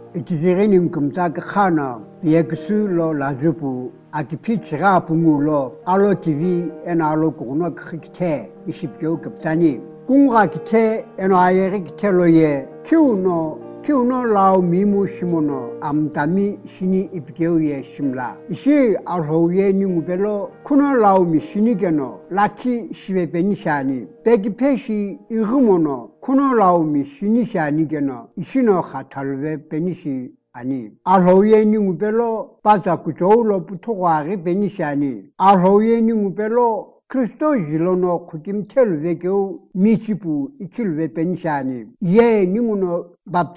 Itizirenim kumtaka khana yeksu lo lazupu akipichira pungulo alo TV en alo kuno khikte ishipyo kaptani kunga kite en ayeri kite loye kiuno lao mimu shimono amtami shini ipkeuye shimla ishi alhoye ningubelo kuno lao mi shini geno laki shive benishani begi peshi igumono kuno lao mi shini shani geno ishino khatalve benishi 아니 알호예 닝우벨로 바자쿠조로 부토과리 베니샤니 알호예 닝우벨로 크리스도 일로노 쿠김텔베교 미치부 이킬베 베니샤니 예 닝우노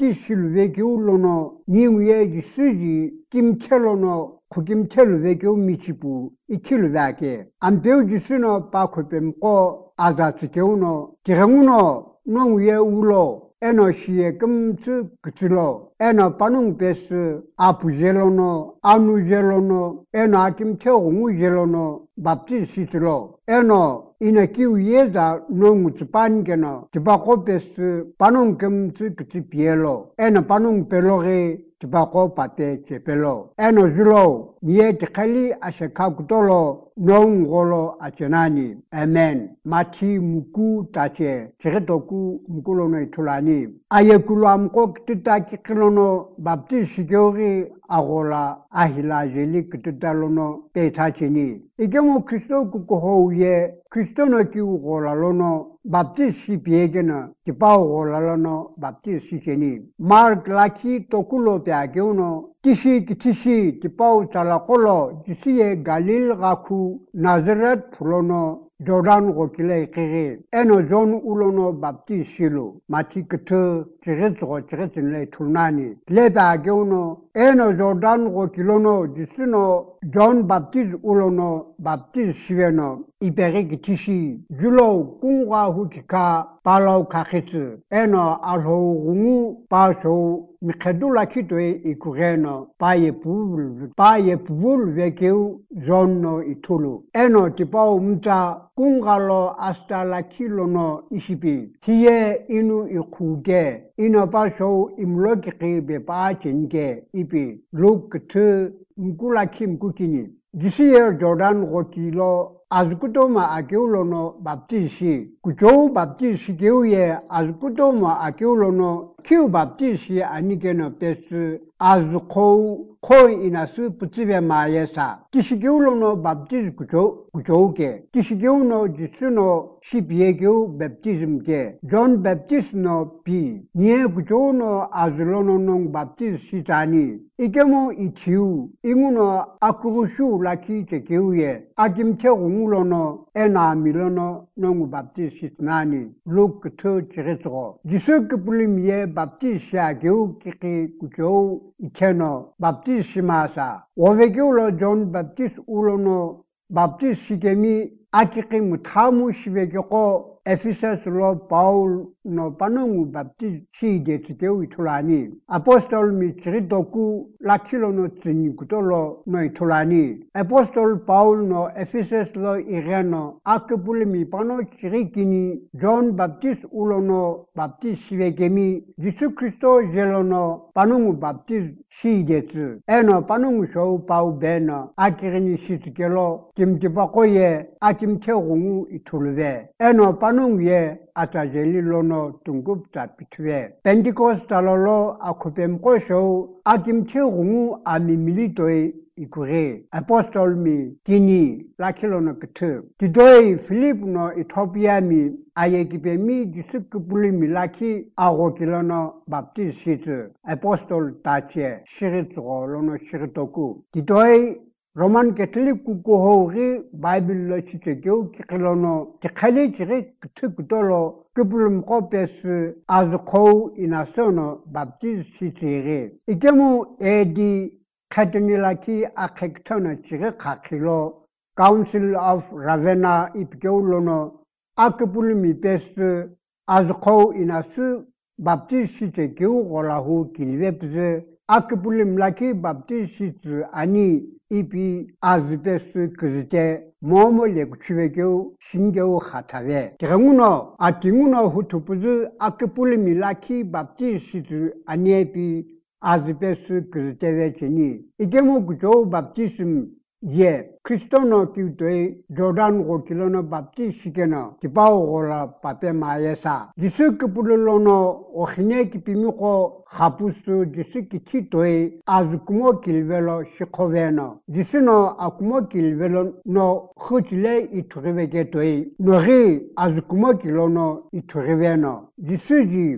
밥티실베교로노 닝우예 지스지 김텔로노 쿠김텔베교 미치부 이킬베게 안베우지스노 바코뱀고 아자츠교노 지랑우노 농우예 우로 eno shie kumtsu kutsilo eno panung pesu apu jelono anu jelono eno akim teungu jelono bapti sitilo eno ina kiu yeza nongu tsupangeno tibako pesu panung kumtsu kutsi pielo eno panung pelore tibako pate chepelo eno zilo nye tikali ashekakutolo nongolo achenani amen mati muku tache chiretoku mukulono itulani ayekulamko kitaki kilono bapti sigyori agola ahila jeli kitalono petachini igemo kristo kukohoye kristo no kiugola lono bapti sipiegena tipao gola lono bapti sikeni mark laki tokulo peageuno tishi tipau talakolo jisiye galil gaku nazaret pulono Jordan gokile kere eno zon ulono bapti silo mati kete chiretsinle tulnani leba geuno eno Jordan gokilono jisino John Baptist ulono Baptist shiveno iberik tishi julo kungwa hukika palau kakitsu eno alho rungu paso mikadula kitwe ikureno paye puvul vekeu zonno itulu eno tipau mta kungalo hasta la kilono isipi hiye inu ikuge ino paso imlokiki be pachenke ipi luk tu mkula kim kukini disiye Jordan gokilo azkutoma akeulono baptisi kujo baptisi keuye azkutoma akeulono kiu baptisi anikeno pesu azkou koi inasu putsive mayesa kisigeulono baptisi kujoke kisigeuno jisuno sipiegeu baptism ke John Baptist no pi nie kujono azlono nong baptisi tani ikemo itiu inguno akurushu laki tekeuye akimche ungulono ena milono nong baptisi nani luk to chiretro jisuk pulimye baptisi ageu kiki kujo ikeno baptisi masa ovegeulo John Baptist ulono baptisi kemi akiki mutamu shivegeko Ephesus lo Paul no panongu baptisi de tikeu itulani apostol mi chiritoku lakilo no tsinikuto no itulani apostol Paul no Ephesus lo ireno akapuli mi pano chirikini John Baptist ulono baptisi vegemi Jesu Christo jelono panongu baptisi detsu eno panongu show pau beno akirini sitikelo kimtipakoye akimtegungu itulve eno panungye atajeli lono tungup tapitwe Pentecostalo akupemko show akimche rungu amimilitoi ikure apostol mi kini lakilono kete tidoi Philip no Ethiopia mi ayekipe mi disukupuli mi laki agokilono baptist apostol tache shiritro lono shiritoku tidoi Roman Catholic kukohori Bible lo chitekeu kikilono tikhali chiri kutolo kipulum kopes azkou inasono baptist sitere ikemu edi katenilaki akektono chiri kakilo Council of Ravenna ipkeulono akipulumi pes azkou inasu baptist sitekeu golahu kilvepse akipulim laki baptist ani ipi azbesu kuzite momo lekuchivekeu shingeu khatave tiranguno atinguno hutupuzu akipuli milaki baptist aniepi 아즈베스 그르테베치니 이게모 그조 밥티즘 예 크리스토노 기도에 조단 고킬로노 밥티시게노 디바오고라 파페 마예사 디스크 불로노 오히네 기피미고 하푸스 디스키 키토에 아즈쿠모 길벨로 시코베노 디스노 아쿠모 길벨로 노 흐질레 이투르베게토에 노리 아즈쿠모 길로노 이투르베노 디스지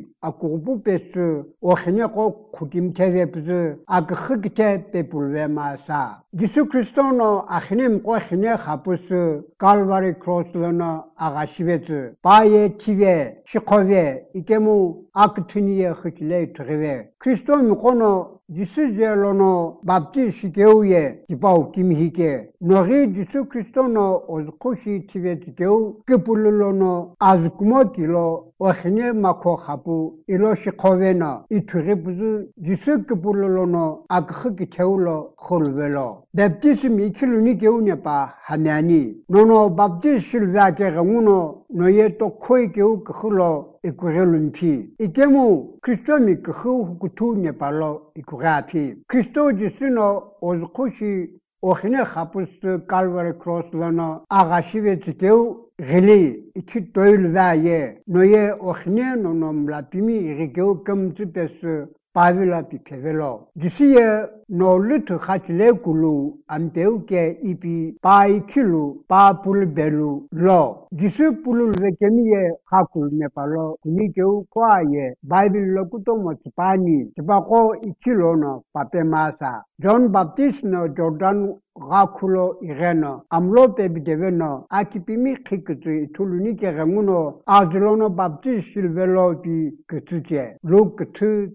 아쿠부페스 오히네고 쿠김테베プズ 아크흐기테 베불베마사 디스 크리스토노 아히님 꼬히네 하푸스 칼바리 크로스로노 아가시베즈 바예 티베 시코베 이게무 아크트니에 흐질레 트르베 크리스토 미코노 디스젤로노 밥티시게우에 디바우 김히게 노리 디스 크리스토노 오즈코시 티베티게우 그불로노 아즈쿠모키로 오히네 마코 하푸 일로시코베나 이트르부즈 디스 그불로노 아크흐기 테울로 콜벨로 밥티스미 이킬루니 게우냐파 하냐니 노노 밥티실바케가 무노 노예 또 코이 게우 그홀로 이쿠relun피 이게무 크리스토미 그후 구투냐 발로 이쿠가피 크리스토 지스노 오즈코시 오히네 하푸스 칼바리 크로스로노 아가시베티게우 릴리 이치 도일바예 노예 오히네 노놈라피미 이게우 컴츠페스 파빌라피 케벨로 디시에 노르트 하치레 굴루 안테우케 이피 파이킬루 파풀벨루 로 디스 풀루 베케미에 하쿨 네팔로 니게우 과예 바이빌로 쿠토모 스파니 스바코 이킬로노 파페마사 존 밥티스노 조단 가쿨로 이레노 암로페 비데베노 아키피미 키크트 툴루니케 가무노 아즐로노 밥티스 실벨로피 그투제 루크트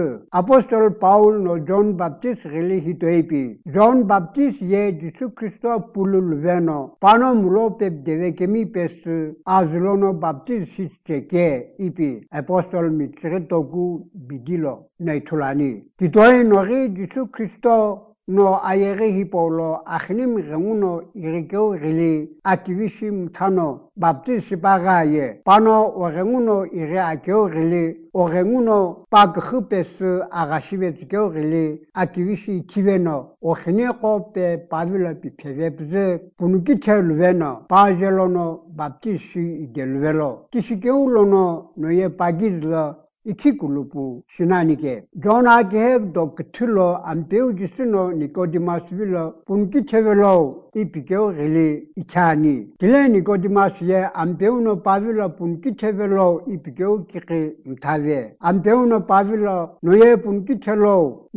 아포스톨 파울노 존 밥티스 릴리히토이피 존 밥티스 예 지수 크리스토 풀루베노 파노무로페 데베케미 페스 아즐로노 밥티스 시스테케 이피 아포스톨 미트레토구 비딜로 네툴라니 티토이 노리 지수 크리스토 no ayere hipolo akhnim remuno irikeu rili aktivishim thano baptisi bagaye pano oremuno ire akeu rili oremuno pakhupes agashibetskeu rili aktivishi tiveno okhne qope pavila pitevepze punuki chelveno pajelono baptisi delvelo kisikeulono noye pagizla 이키굴루부 시나니게 존아게 도크틀로 안페우지스노 니코디마스빌로 분키체벨로 이피게오 릴리 이차니 딜레 니코디마스예 안페우노 파빌로 분키체벨로 이피게오 키키 타베 안페우노 파빌로 노예 분키체로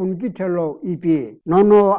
이피 노노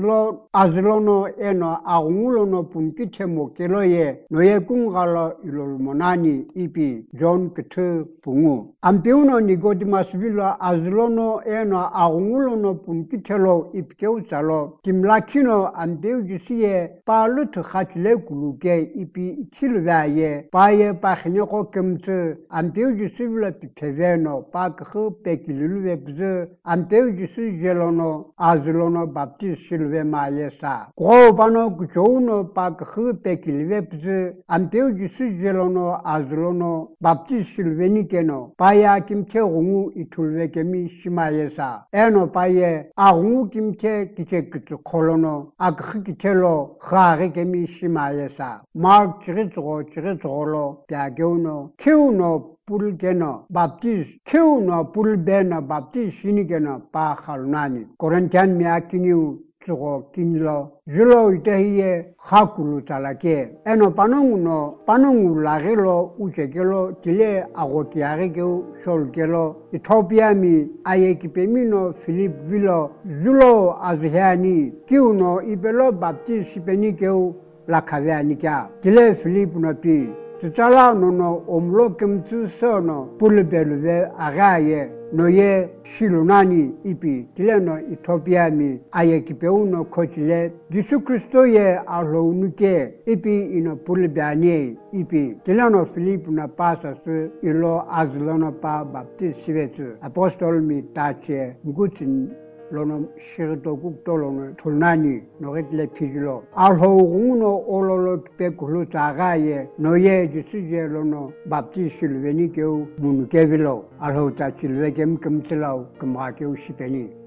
아즐로노 에노 아웅울로노 분키체모 켈로예 노예 궁갈로 일로모나니 이피 존 크트 붕우 안페우노 니코디마스빌로 아즐로노 에노 아웅울로노 분키체로 이피게우살로 김라키노 안페우지시에 팔루트 하틀레 구루게 이피 킬바예 바예 파히니코 컴츠 안페우지시빌로 피테베노 파크 페킬루베브즈 안페우지시 젤로노 아즐로노 밥티스 실베 마예사 고바노 구조노 파크 페킬베브즈 안페우지시 젤로노 아즐로노 밥티스 실베니케노 바야 김체 공우 이툴베케미 시마예사 에노 바예 아공우 김체 기체크트 콜로노 아크키체로 하게케미 시마예사 마르 치르츠고로 뼈교노 키우노 pulgeno baptist kiuno pulbena baptist sinigeno pa khalnani korintian miakiniu tsugo kinlo julo itehiye khakulu talake eno panongu lagelo uchekelo tile agotiareke solkelo ethiopia mi ayekipemino philip vilo julo azhani kiuno ibelo baptist penikeu lakhavianika tile philip no pi Tutala nono omlo kemtu sono pulbelve agaye noye shilunani ipi tileno Ethiopia mi ayekipeuno kochile Jesu Kristo ye alounuke ipi ino pulbane ipi tileno Philip na pasa su ilo azlono pa baptist sivetu apostol mi tache ngutin 로노 시르도국도로는 돌나니 노게틀레 피줄로 알호공노 올로로 베굴로 자가에 노예 지시제로노 밥지 실베니 겨우 문게빌로 알호자 실베겜 금틀라우 금하게우 시베니